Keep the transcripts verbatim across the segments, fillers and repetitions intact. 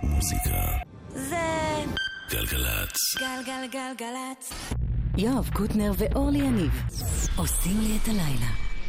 מוזיקה זה גלגלצ. גלגלגלגלצ. יואב קוטנר ואורלי יניב עושים לי את הלילה.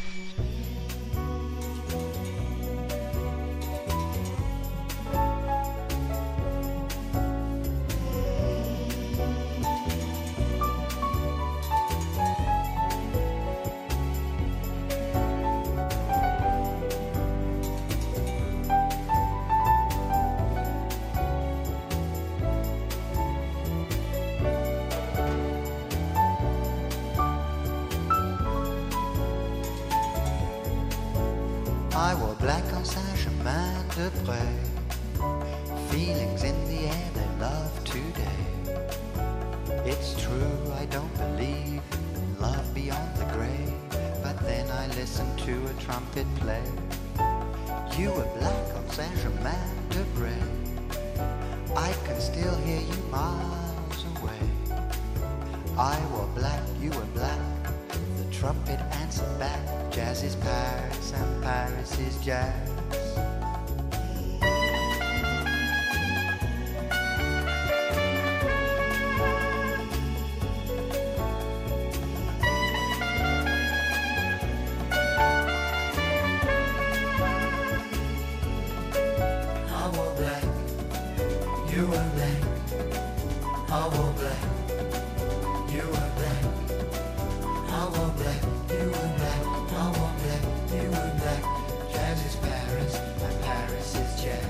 I wore black on Saint-Germain-de-Prés. Feelings in the air they love today. It's true, I don't believe in love beyond the grave, but then I listened to a trumpet play. You were black on Saint-Germain-de-Prés. I can still hear you miles away. I wore black, you were black. The trumpet answered back. Jazz is Paris and Paris is jazz. I wore black, you were black. I wore black, you were black. I wore black, you were black. I wore black, you were black. Jazz is Paris, and Paris is jazz.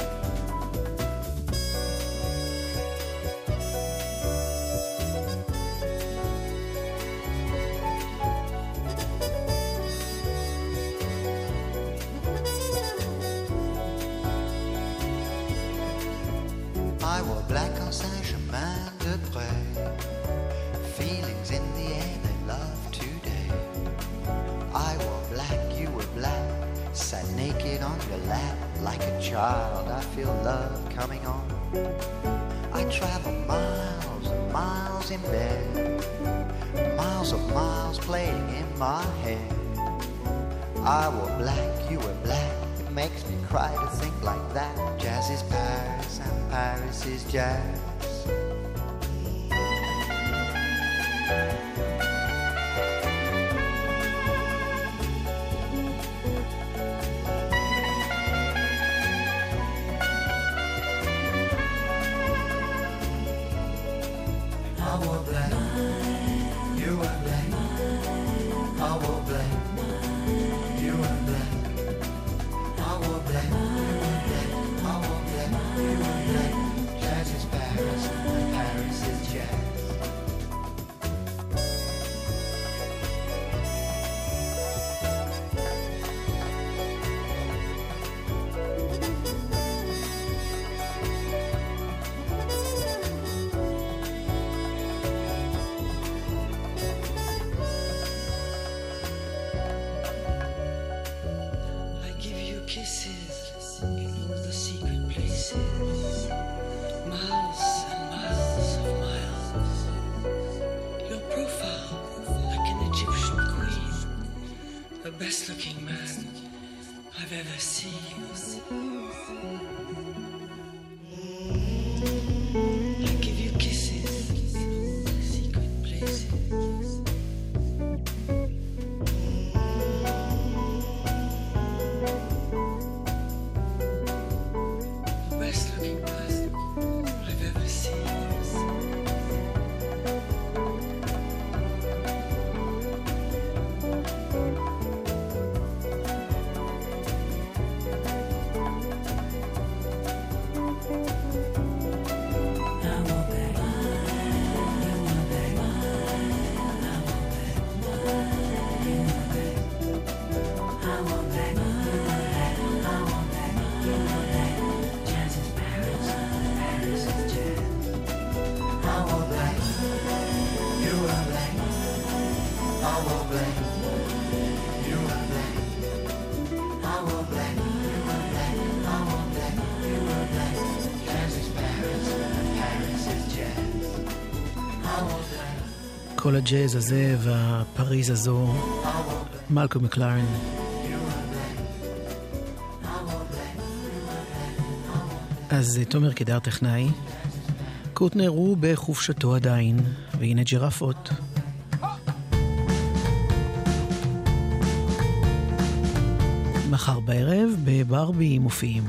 I wore black on Saint-Germain-de-Prés. Feelings in the air they love today. I wore black, you were black. Sat naked on your lap like a child. I feel love coming on. I travel miles and miles in bed. Miles of miles playing in my head. I wore black, you were black. It makes me cry to think like that. Jazz is Paris and Paris is jazz. I wore black, you were black. I wore black, you were black. I wore black, you were black. I wore black, you were black. Jazz is Paris, and Paris is jazz. I give you kisses in all the secret places, miles and miles of miles. Your profile like an Egyptian queen, the best looking man I've ever seen. I give you kisses in all the secret places. The best looking person I've ever seen. כל הג'אז הזה והפריז הזו, מלקום מקלרן. אז תומר קדר טכנאי, קוטנר הוא בחופשתו עדיין, והנה ג'ירפות. מחר בערב בברבי מופיעים.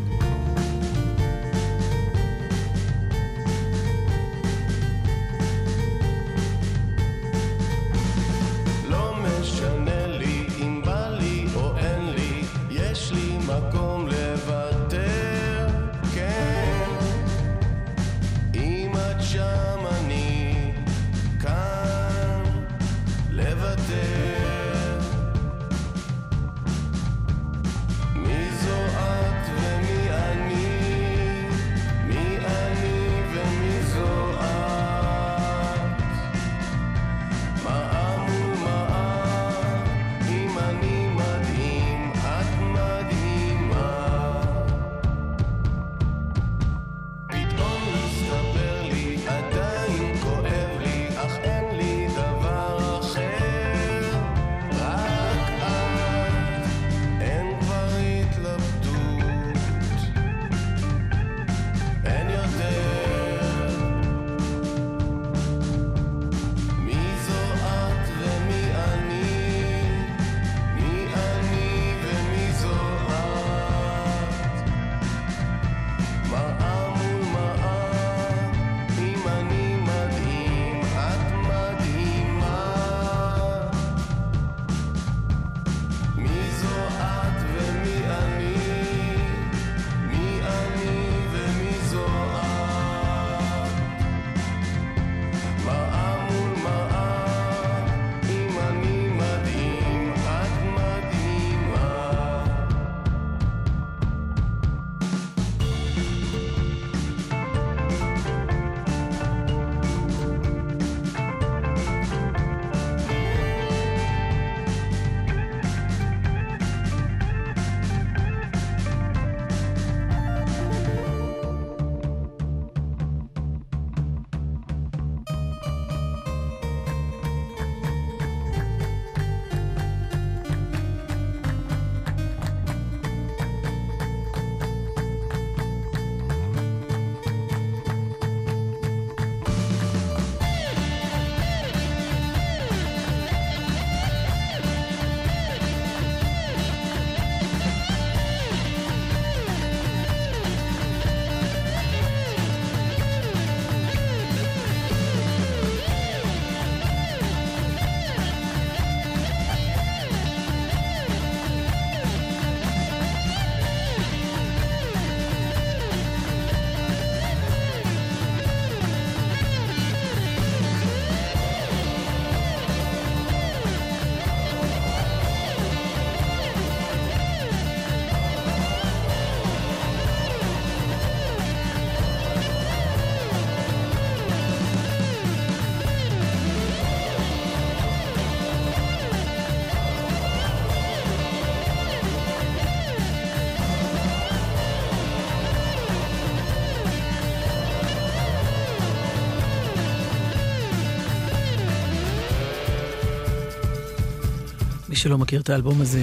מי שלא מכיר את האלבום הזה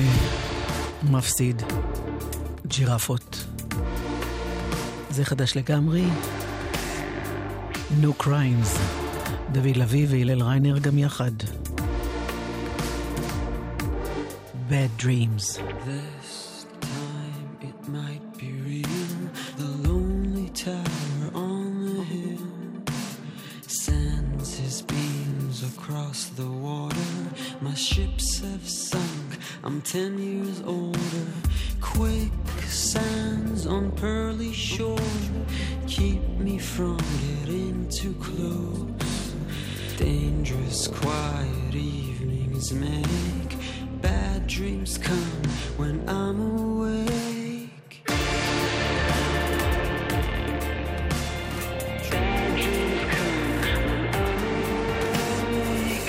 מפסיד. ג'ירפות. זה חדש לגמרי. No Crimes. דוד לוי והילל ריינר גם יחד. Bad Dreams. This time it might be real. The lonely tower on the hill sends his beams across the water. My ships have sunk, I'm ten years older. Quicksands on pearly shore keep me from getting too close. Dangerous quiet evenings make bad dreams come when I'm awake. Bad dreams come when I'm awake.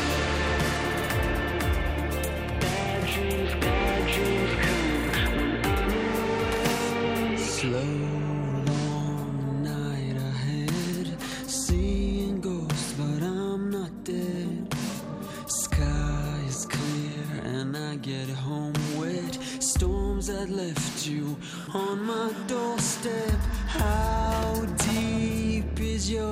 Bad dreams, bad dreams come when I'm awake. Slow long night ahead, seeing ghosts but I'm not dead. Sky is clear and I get home wet. Storms that left you on my doorstep. I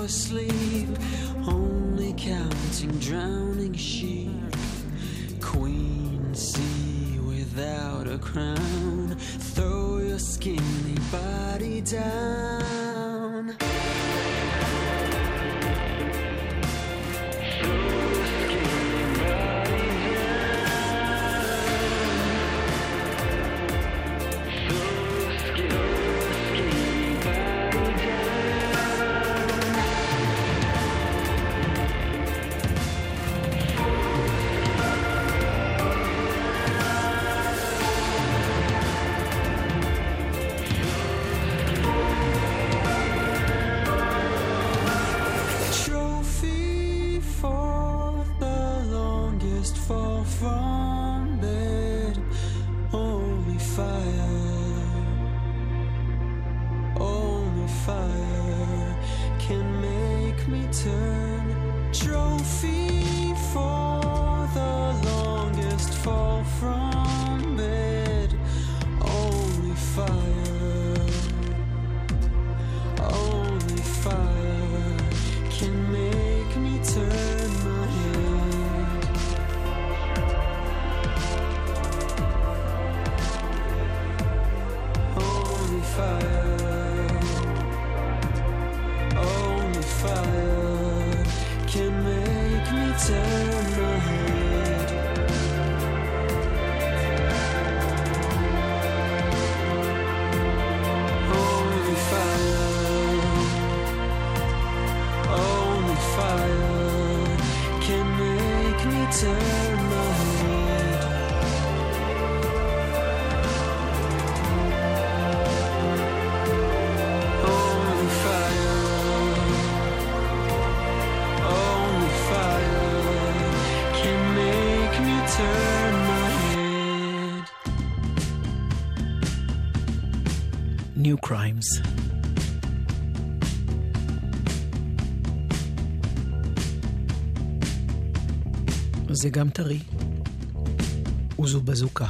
asleep, only counting drowning sheep. Queen sea without a crown, throw your skinny body down. New Crimes. זה גם טרי, וזו בזוקה.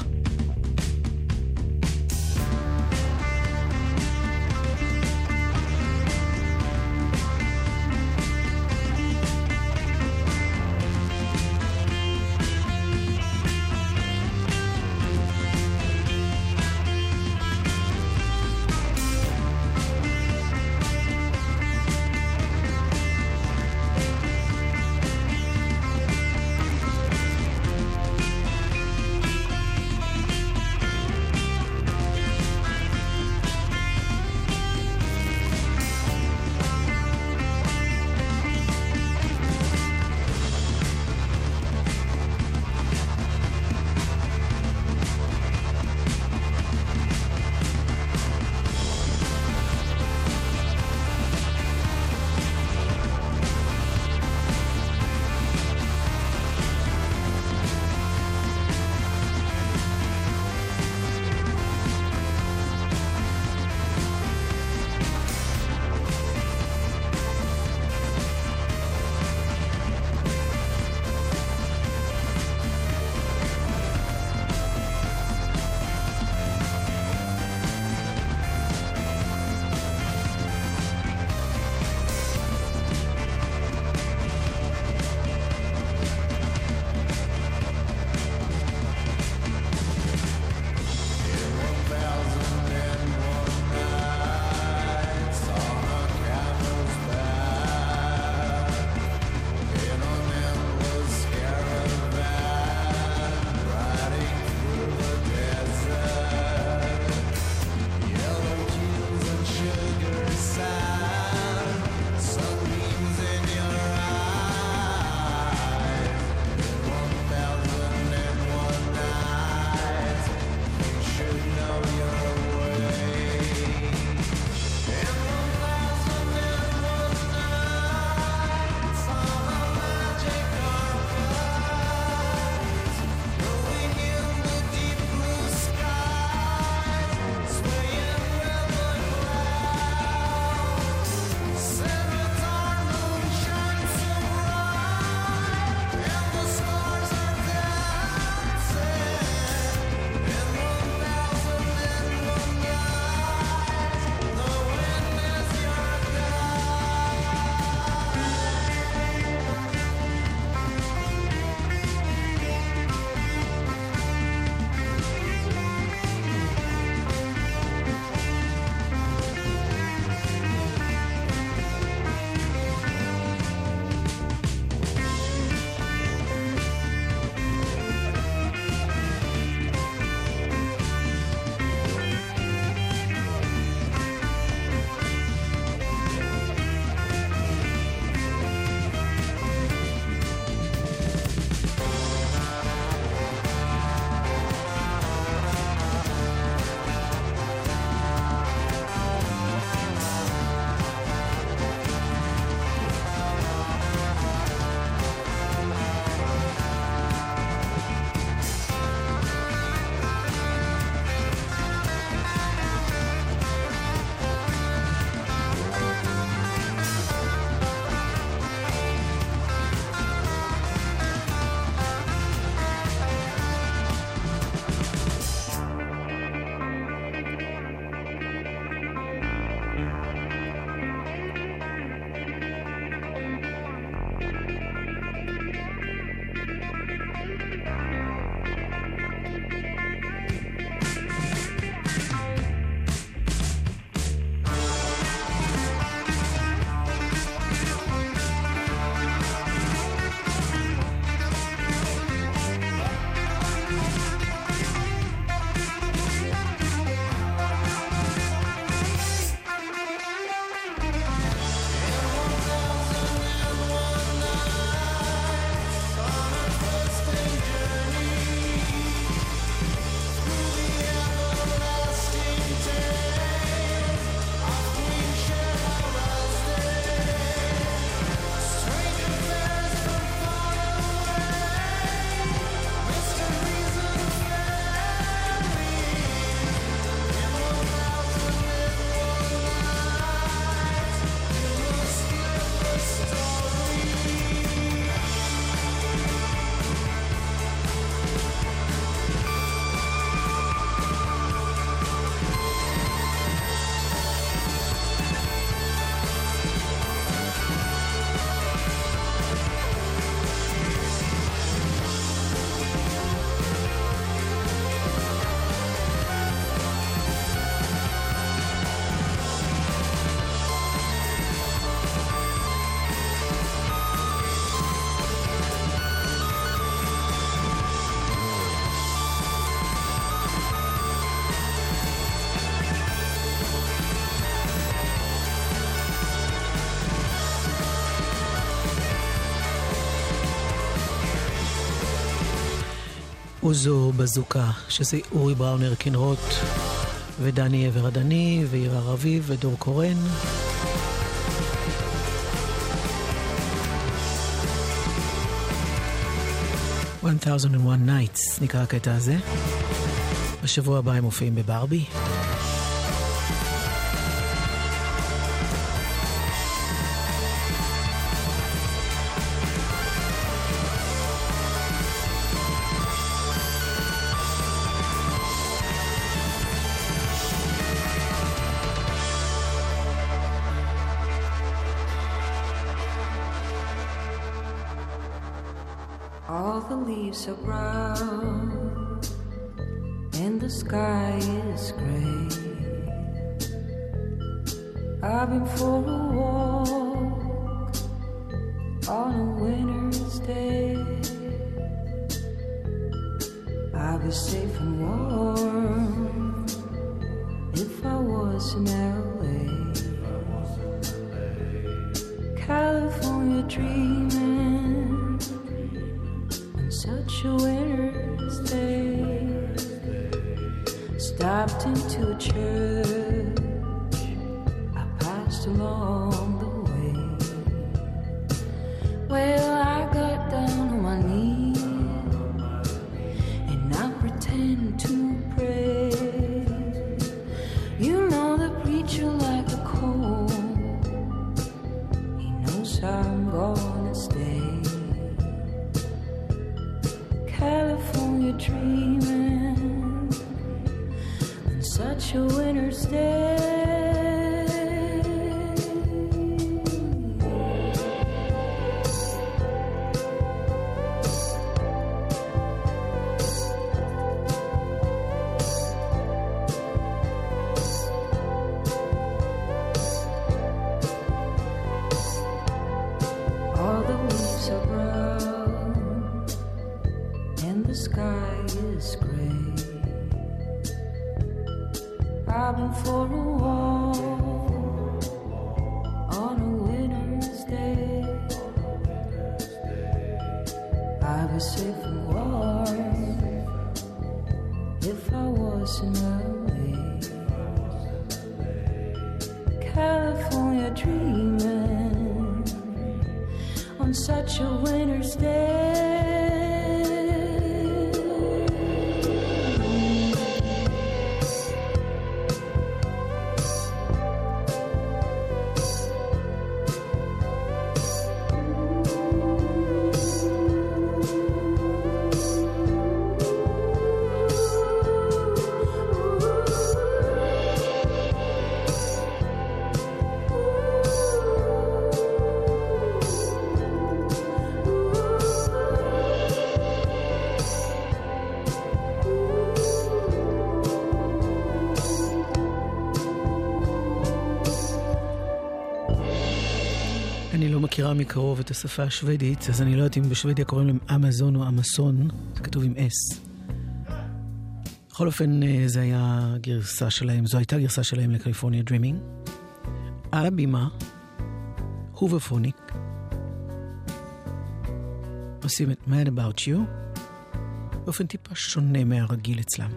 אוזו בזוקה, שזה אורי בראונר קינרוט ודני עבר הדני ועירה רביב ודור קורן. one thousand one nights נקרא הקטע הזה. בשבוע הבא הם מופיעים בברבי. All the leaves are brown and the sky is gray. I've been for a walk on a winter's day. I'll be safe and warm if I was in L A. California dreaming such a winter's day. Stopped into a church I passed along the way. Well, I got down on my knees and I pretend to pray. You know the preacher like a cold, he knows I'm gonna stay. California dreaming on such a winter's day. All the leaves are brown and the sky is gray. I've been for a walk on a winter's day. I'd be safe and warm if I was in L A. California dreaming on such a winter's day. אני לא מכירה מקרוב את השפה השוודית, אז אני לא יודעת אם בשוודיה קוראים להם אמזון או אמסון, זה כתוב עם אס. בכל אופן, זה היה גרסה שלהם, זו הייתה גרסה שלהם לקליפורניה דרימינג. על הבימה, הוברפוניק, עושים את Mad About You, באופן טיפה שונה מהרגיל אצלם.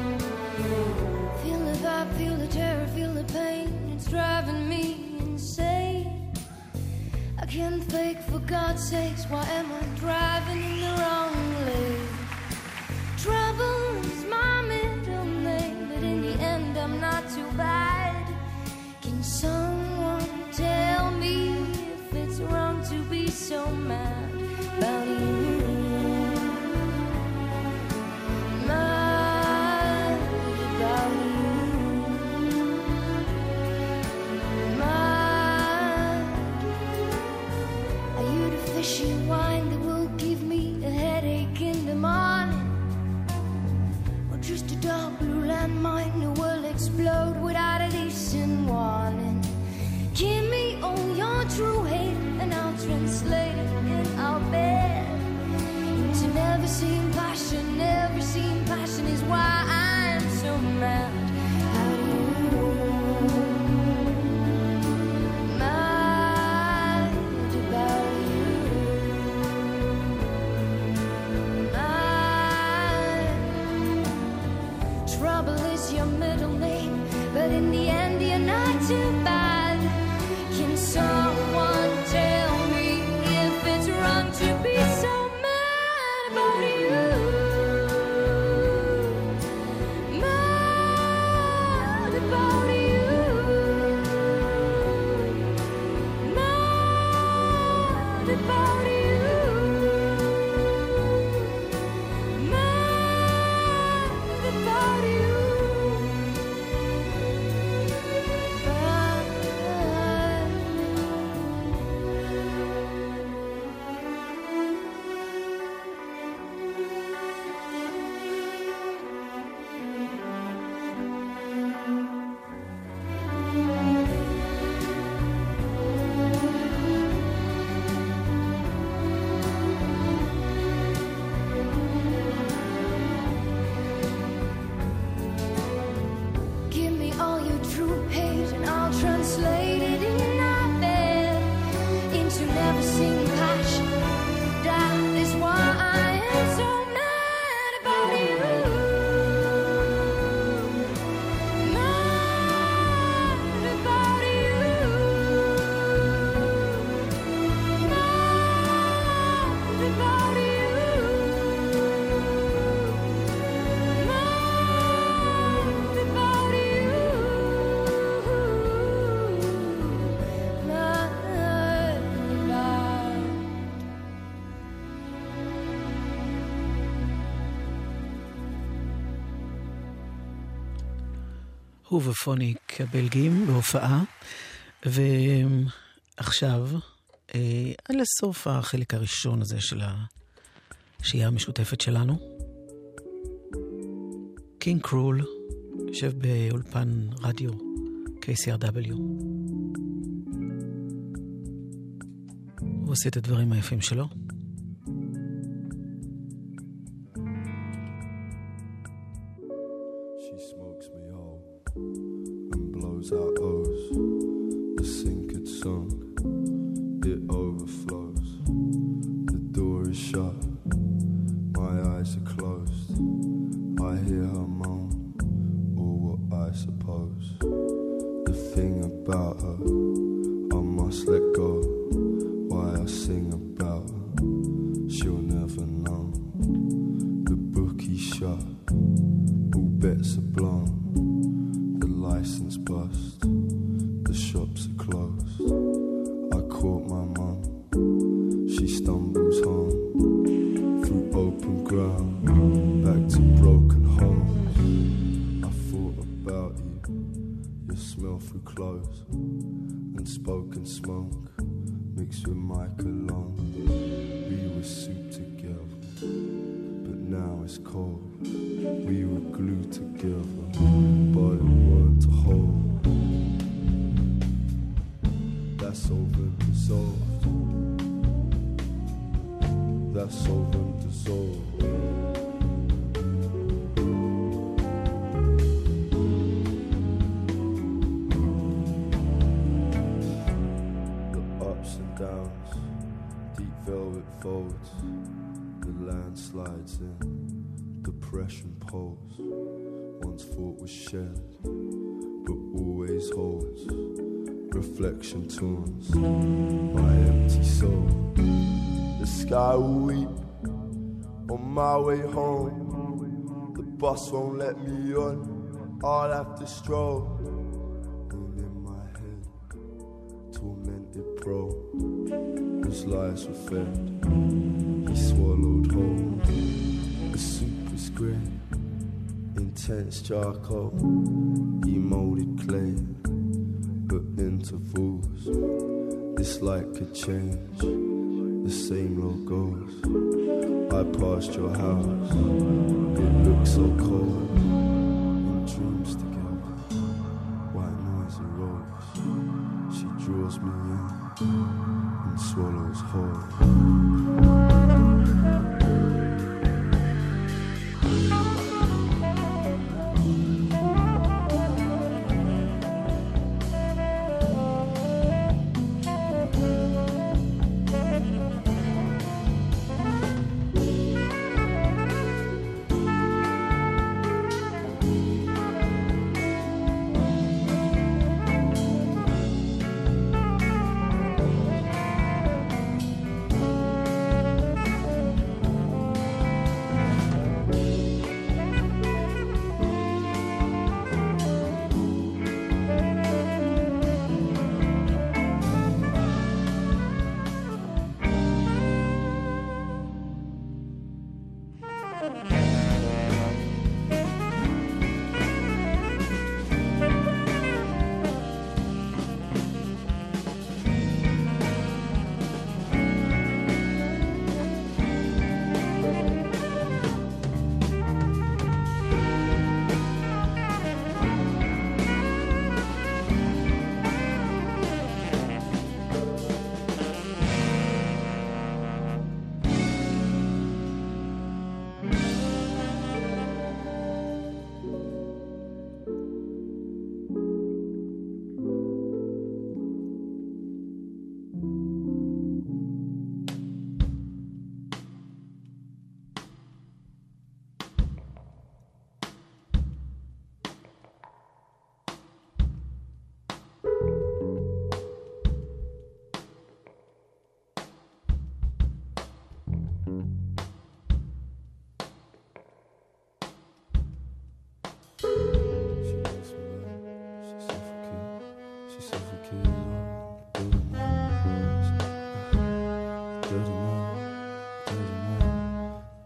Feel the vibe, feel the terror, feel the pain. It's driving me insane. mad at you. Mad about you. Mad. Trouble is your middle name, but in the end you're not too bad. Can someone tell me if it's wrong to be so mad about you? Mad about you. Mad about you. Mad about you. Give me all your true hate and I'll translate it in our bed into never seen passion. That is why I am so mad about you. Mad about you. Mad about you. Mad about you. Mad about. הוא ופוניק הבלגים בהופעה, ועכשיו, אה, עד לסוף החלק הראשון הזה של השהייה המשותפת שלנו. קינג קרול יושב באולפן רדיו K C R W. הוא עושה את הדברים היפים שלו. She smokes me whole and blows out O's. The sink had sunk, it overflows. The door is shut, my eyes are closed. I hear her moan, or what I suppose. The thing about her, I must let go. Why I sing about her, she'll never know. The bookie's shut, all bets are blown. The license bust, the shops are closed. I caught my mum, she stumbles home through open ground, back to broken homes. I thought about you, your smell through clothes, and spoken smoke mixed with my cologne. We were soup together, but now it's cold. We were glued together, but it weren't to hold. That's over and dissolved. That's over and dissolved. The ups and downs, deep velvet folds. The land slides in, depression poles. Once thought was shared, but always holds. Reflection tunes my empty soul. The sky will weep on my way home. The bus won't let me on, I'll have to stroll. And in my head, tormented pro, whose lies were fed, he swallowed whole. The soup was grey, intense charcoal. He molded clay, but intervals. This light could change, the same logos. I passed your house, it looked so cold. In dreams together, white noise arose. She draws me in and swallows whole.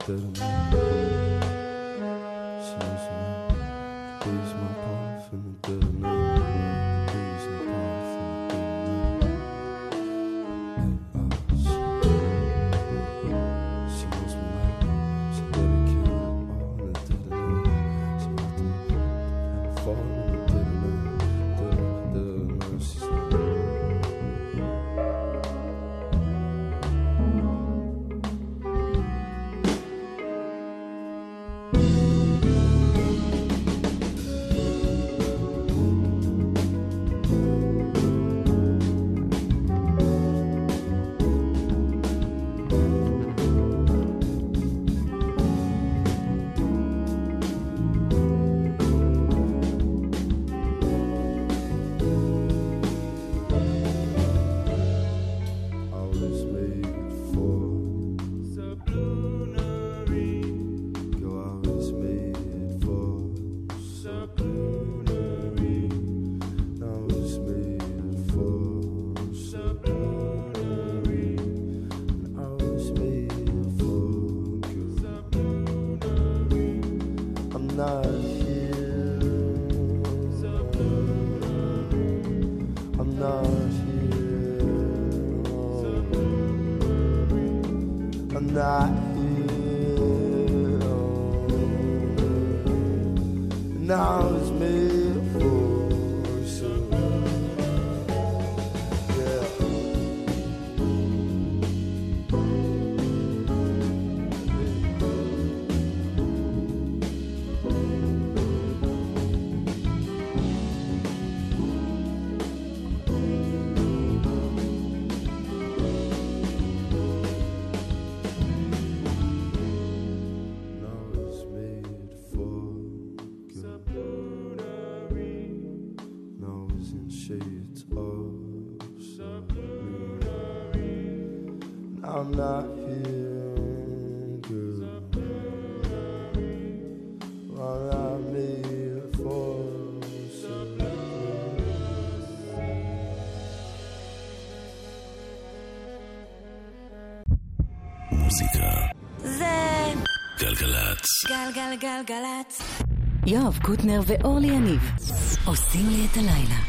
dead of night. She knows me now. Breathes my path in the dead of night. Breathes my path in the dead of night. Yeah, uh, she, she knows me now. She dedicated all in the dead of night. She left me and I fall in the dead of night. Dead of, dead of night. She's like, I'm not here, girl. All I made for מוזיקה זה גלגלצ. גלגלגלגלצ. יואב קוטנר ואורלי יניב עושים לי את הלילה.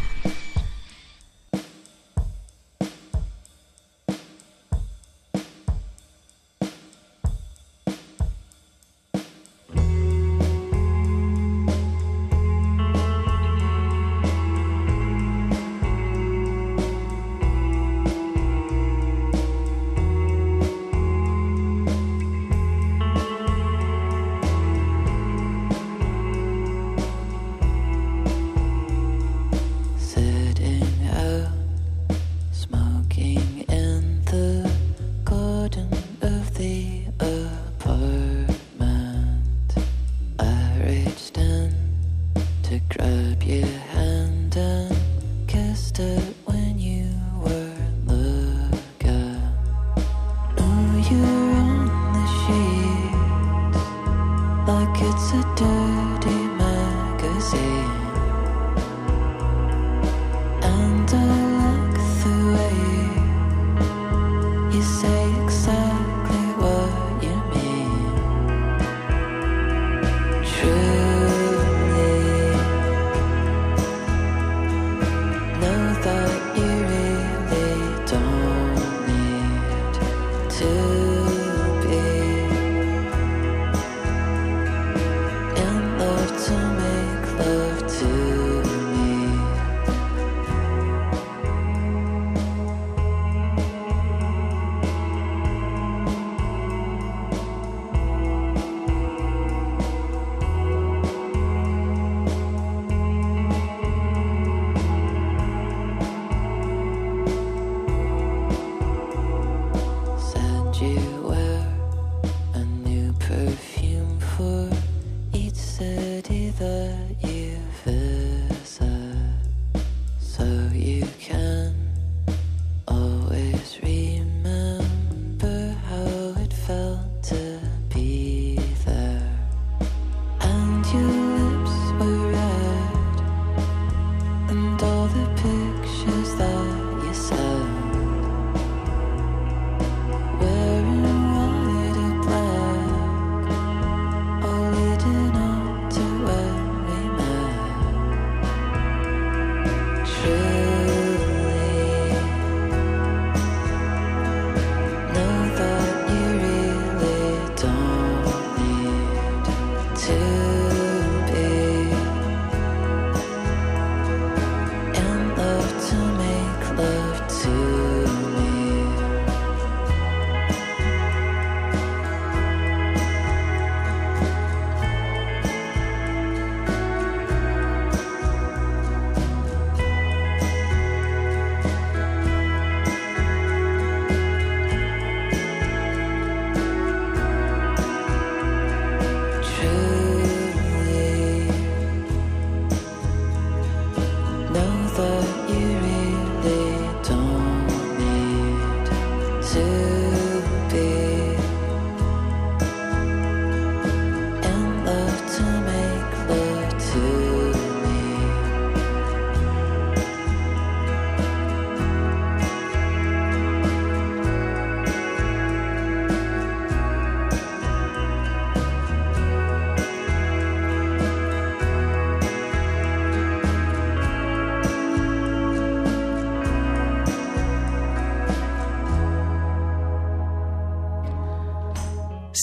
Wearing white or black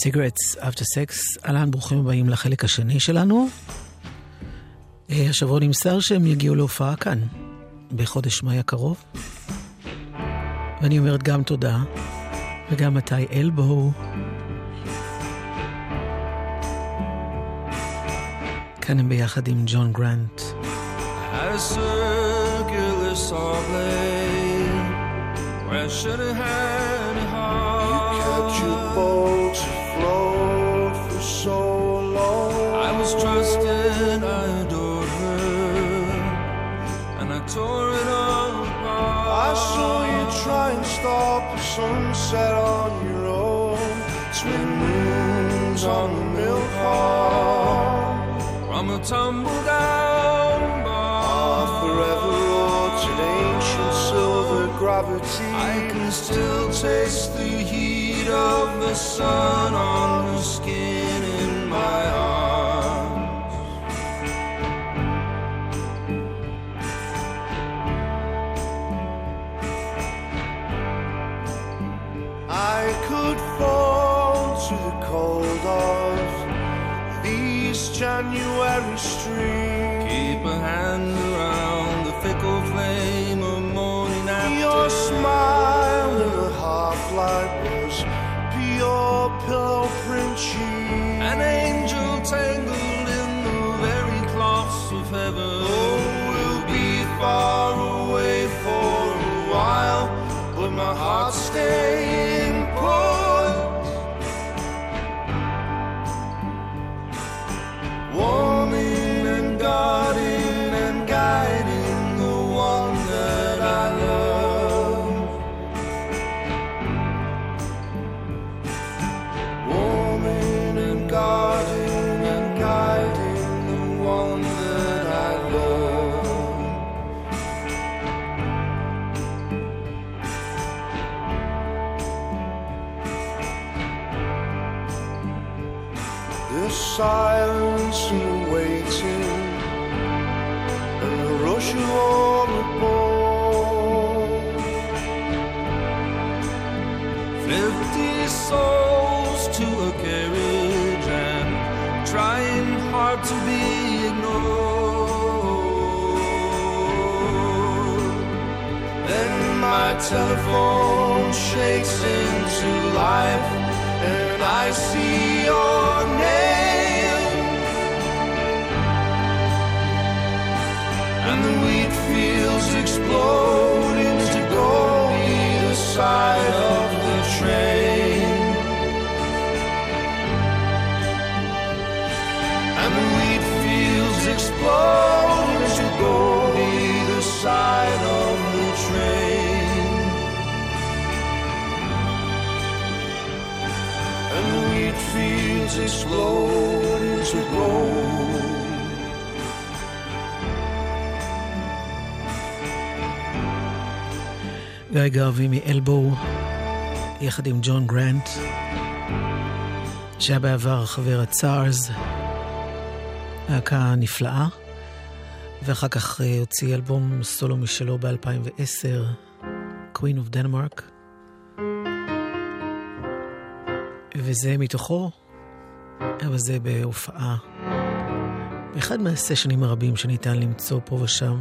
Cigarettes After Sex. אהלן, ברוכים הבאים לחלק השני שלנו. השבוע נמסר שהם יגיעו להופעה כאן בחודש מאי הקרוב, ואני אומרת גם תודה וגם מתי אלבו. כאן הם ביחד עם ג'ון גרנט. Had a circular saw blade where I should have had a heart. You kept your boat afloat for so long. I was trusted, I adored her, and I tore it all apart. I saw you try and stop a sunset on your own. Twin moons on the milk bar. From a tumble down bar, forever wrought in ancient silver gravity. I can still taste the heat of the sun on the skin in my arms. I could fall to the cold of these January streams. Keep a hand around the fickle flame of morning after. Your smile in a half light was pure pillow print cheese. An angel tangled in the very cloths of heaven. Oh, we'll be far away for a while, but my heart's staying put. Warming and guarding and guiding the one that I love. Warming and guarding and guiding the one that I love. The silence and the waiting and the rush of all the boat. Fifty souls to a carriage and trying hard to be ignored. Then my telephone shakes into life and I see your name, and the wheat fields explode into gold either side of the train, and the wheat fields explode into gold either side of the train, and the wheat fields explode into gold. גיא גרבי מאלבו יחד עם ג'ון גרנט, שהיה בעבר חבר הצארס, להקה נפלאה, ואחר כך הוציא אלבום סולו משלו ב-אלפיים ועשר, Queen of Denmark, וזה מתוכו, אבל זה בהופעה באחד מהסשנים הרבים שניתן למצוא פה ושם,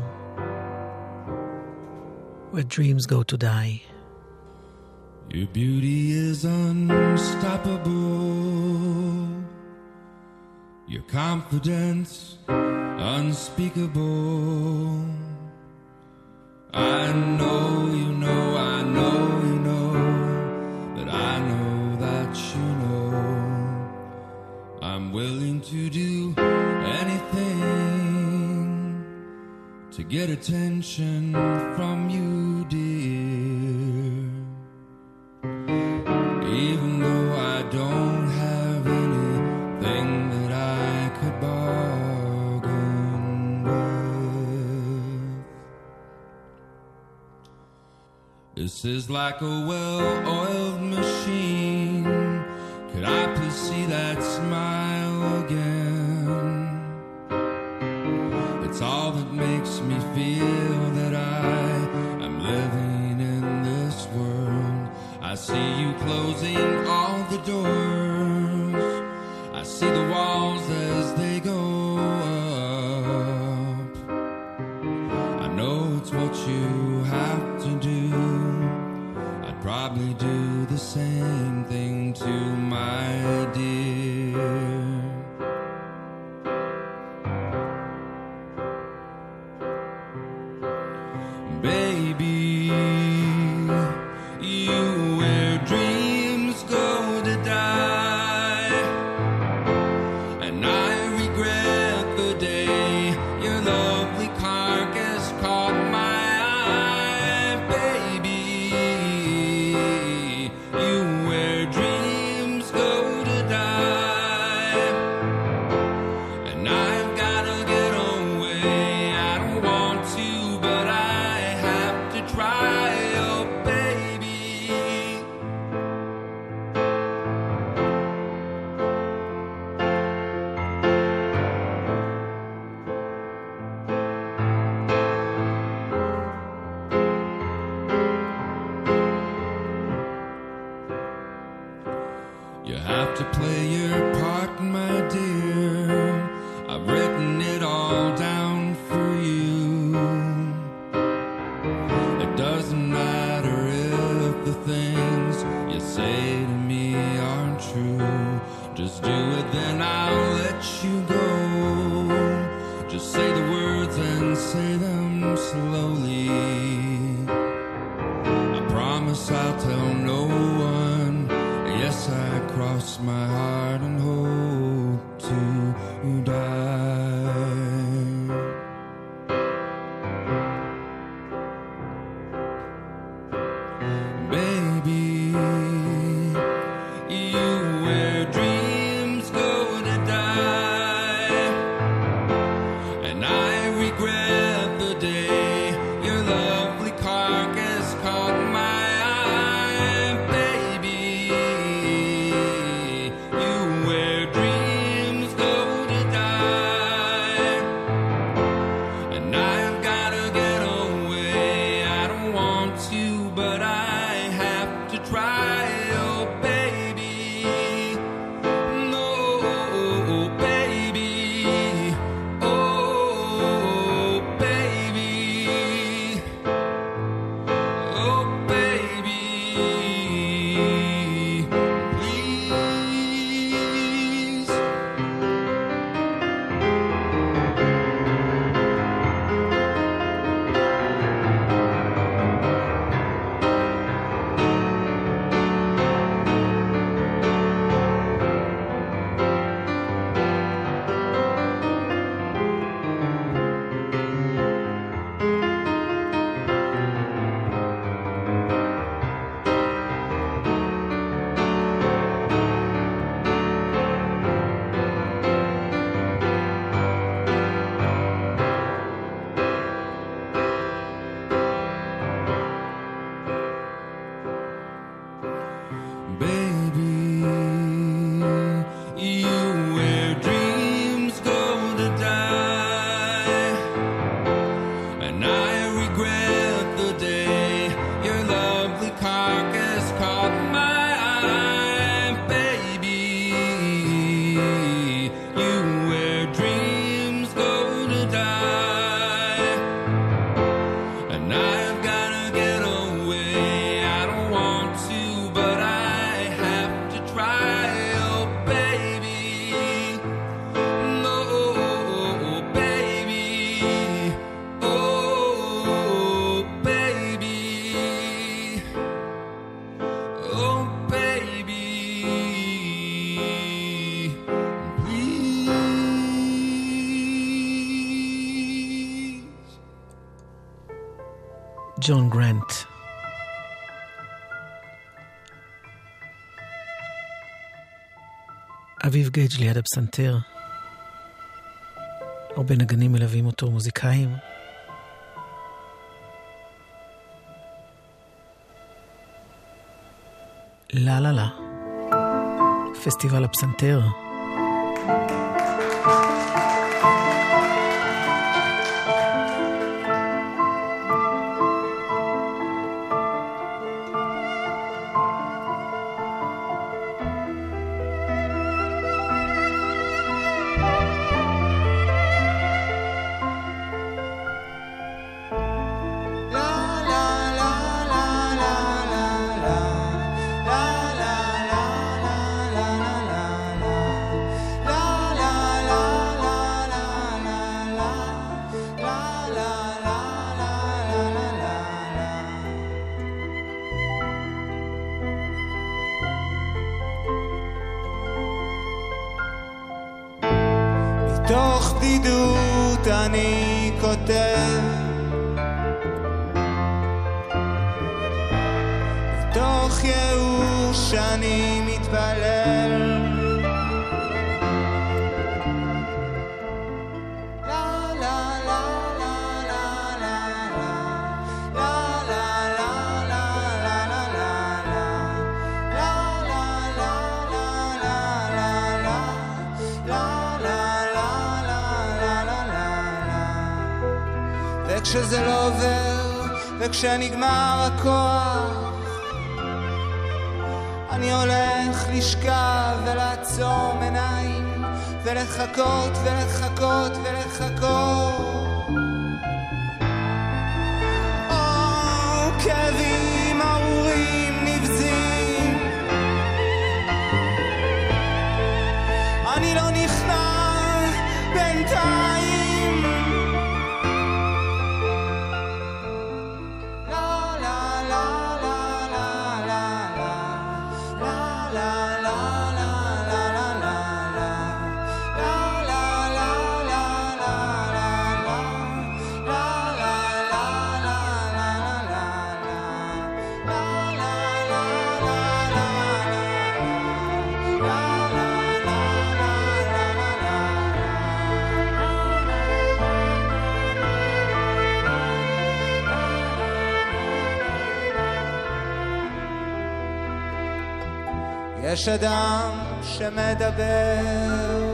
Where Dreams Go to Die. Your beauty is unstoppable, your confidence unspeakable. I know you know, I know you know, that I know that you know. I'm willing to do anything to get attention from you, dear. Even though I don't have anything that I could bargain with. This is like a well-oiled machine. Could I please see that smile again? It's all that makes me feel that I am living in this world. I see you closing all the doors. Just do it, then I'll let you go. Just say the words and say them slowly. I promise I'll tell no one. Yes, I cross my heart and hope to die. Baby, you wear dreams go to die, and I regret the day your lovely carcass caught my eye. Baby, you wear dreams go to die, and I've gotta get away. I don't want to, but I have to try. Oh baby, no baby, oh baby, oh baby, please. Baby, you wear dreams go to die, and I regret the day your lovely carcass caught my eye. Baby, you wear dreams go to die, and I've gotta get away. I don't want to, but I have to try. Oh baby, no baby, oh baby, oh baby, please. ג'ון גרנט. אביב גייג' ליד הפסנתר. הרבה נגנים מלווים אותו, מוזיקאים. לה לה לה. פסטיבל הפסנתר. מתוך בדידות אני כותב, מתוך ייאוש אני מתפלל. וכשזה לא עובר, וכשנגמר הכוח, אני הולך לשכב ולעצום עיניים ולחכות ולחכות ולחכות. או כאבים ארורים נבזים, אני לא נכנע בינתיים. לה לה לה לה לה לה לה לה לה יש אדם שמדבר,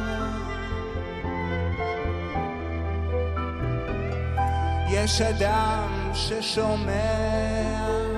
יש אדם ששומע,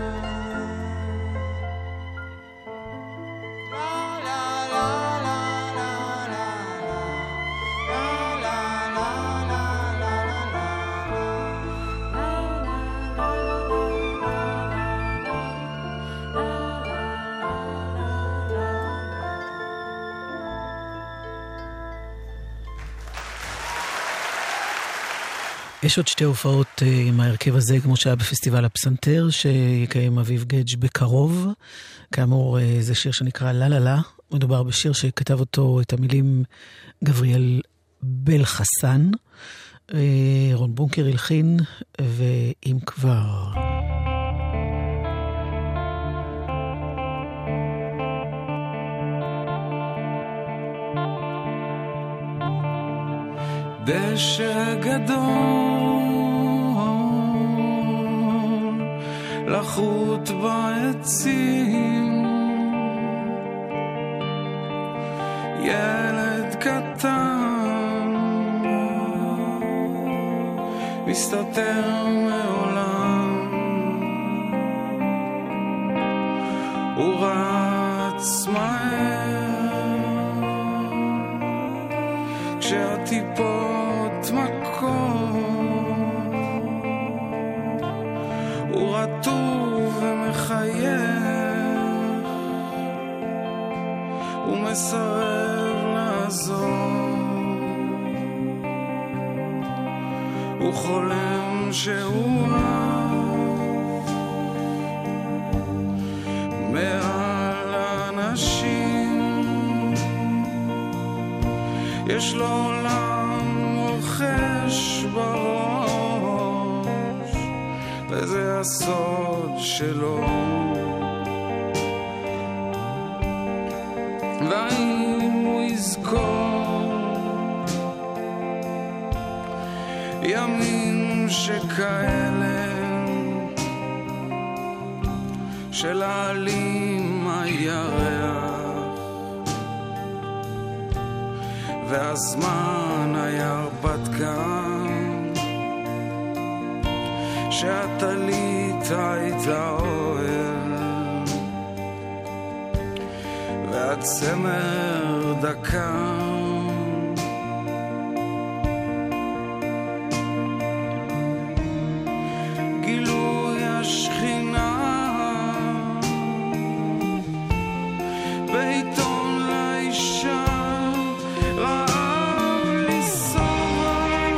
יש עוד שתי הופעות עם ההרכב הזה, כמו שהיה בפסטיבל הפסנתר, שיקיים אביב גדג' בקרוב. כאמור, זה שיר שנקרא לה לה לה. מדובר בשיר שכתב אותו, את המילים, גבריאל בל חסן. רון בונקר הלחין, ואם כבר... דשא גדול לחוט בעצים, ילד קטן מסתתר מעולם, הוא רץ מהר כשהטיפות מכות, הוא רטוב ומחייך, הוא מסרב לעזור, הוא חולם שהוא אהב מעל אנשים, יש לו עולם רוחש בראש, וזה הסוד שלו. והאם הוא יזכור ימים שכאלה של העלים הירח, והזמן היה הרפתקן, שהטלית הייתה אוהל, והצמר דקה, גילוי השכינה בעיתון לאישה, רעב לסובב,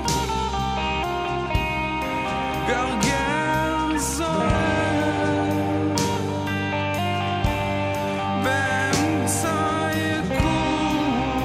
גרגר זוהר באמצע יקום,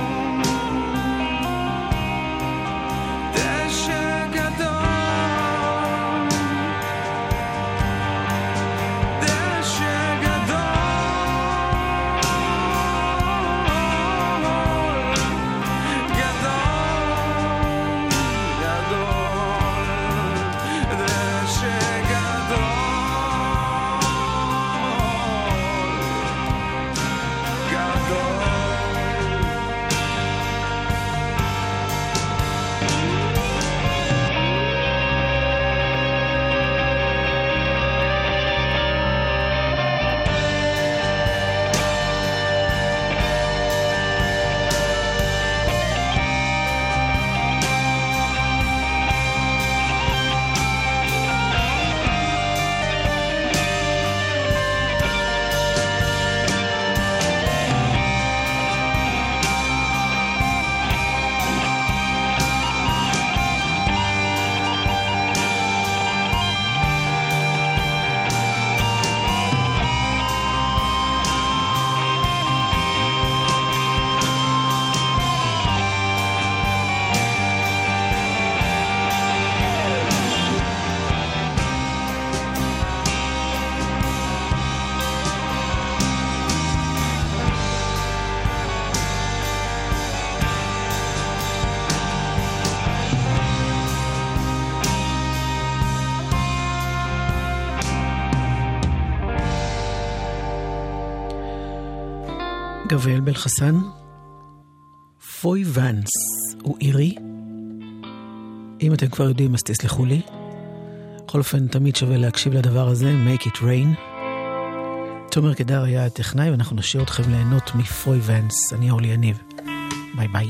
גבריאל בלחסן, פוי ונס הוא אירי. אם אתם כבר יודעים אז תסלחו לי. בכל אופן תמיד שווה להקשיב לדבר הזה, Make It Rain. תומר קדר היה הטכנאי ואנחנו נשאיר אתכם ליהנות מפוי ונס. אני אורלי יניב, ביי ביי.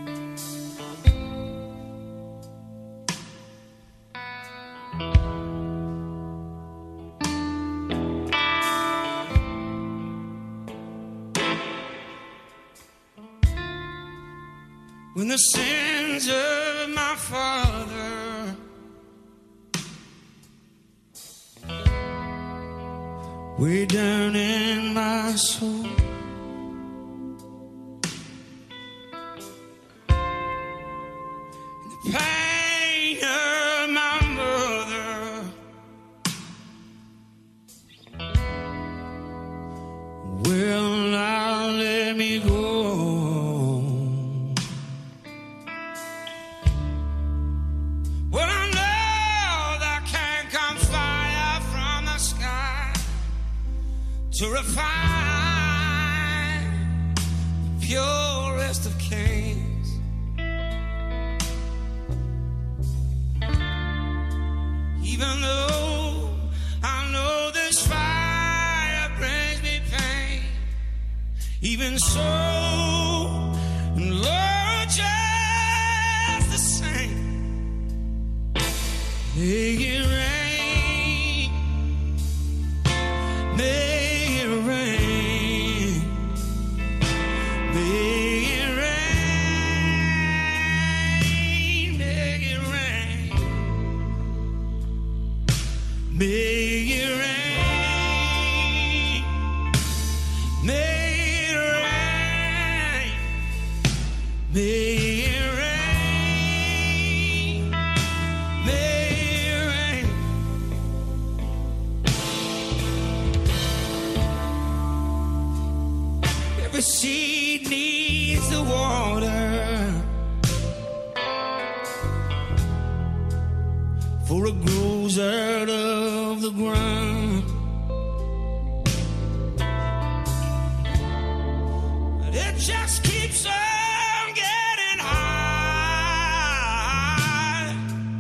When the sins of my father way down in my soul, and the pain of my mother will not let me go. To refine the purest of kings, even though I know this fire brings me pain, even so, Lord, just the same, make it rain, make Make it rain, make it rain, make it rain, make it rain. Every seed needs the water for it grows out of the ground. But it just keeps on getting high,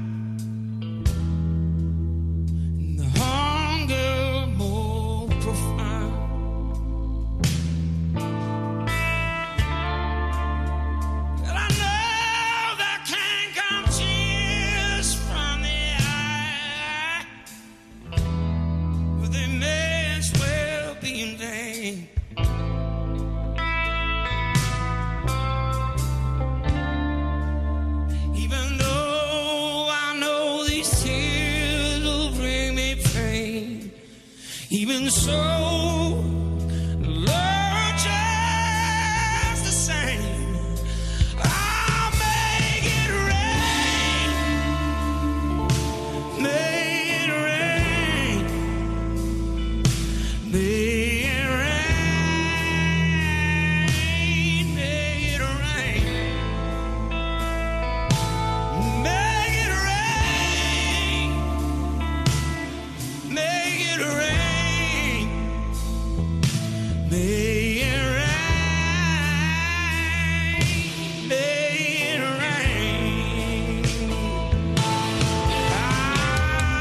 and the hunger more profound. And I know there can come tears from the eye, but they may as well be in vain. Even though I know these tears will bring me pain, even so, Lord, just the same, I'll make it rain, make it rain, make it rain, make it rain, make it rain, make it rain, make it rain, make it rain. Ah.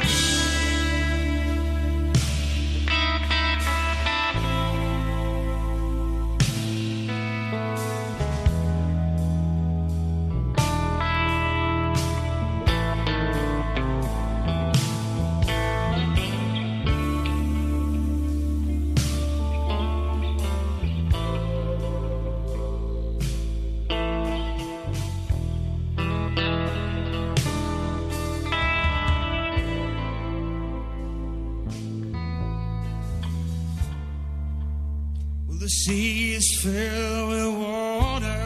Well, the sea is filled with water,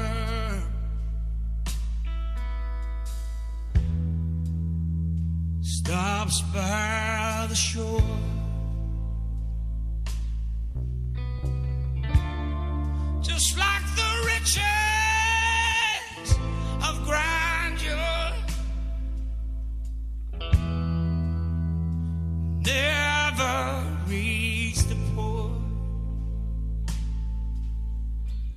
stops by the shore, just like the riches of grandeur, never reach the poor.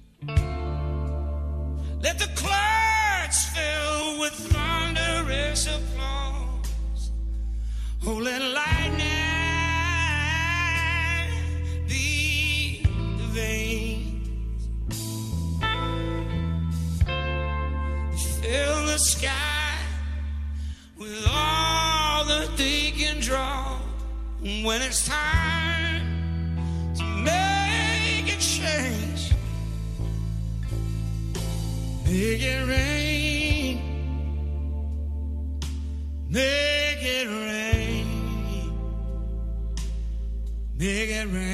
Let the clouds fill with thunderous applause. Oh, let lightning be the veins. Fill the sky with all that they can draw. When it's time to make a change, make it rain, make it rain, make it rain.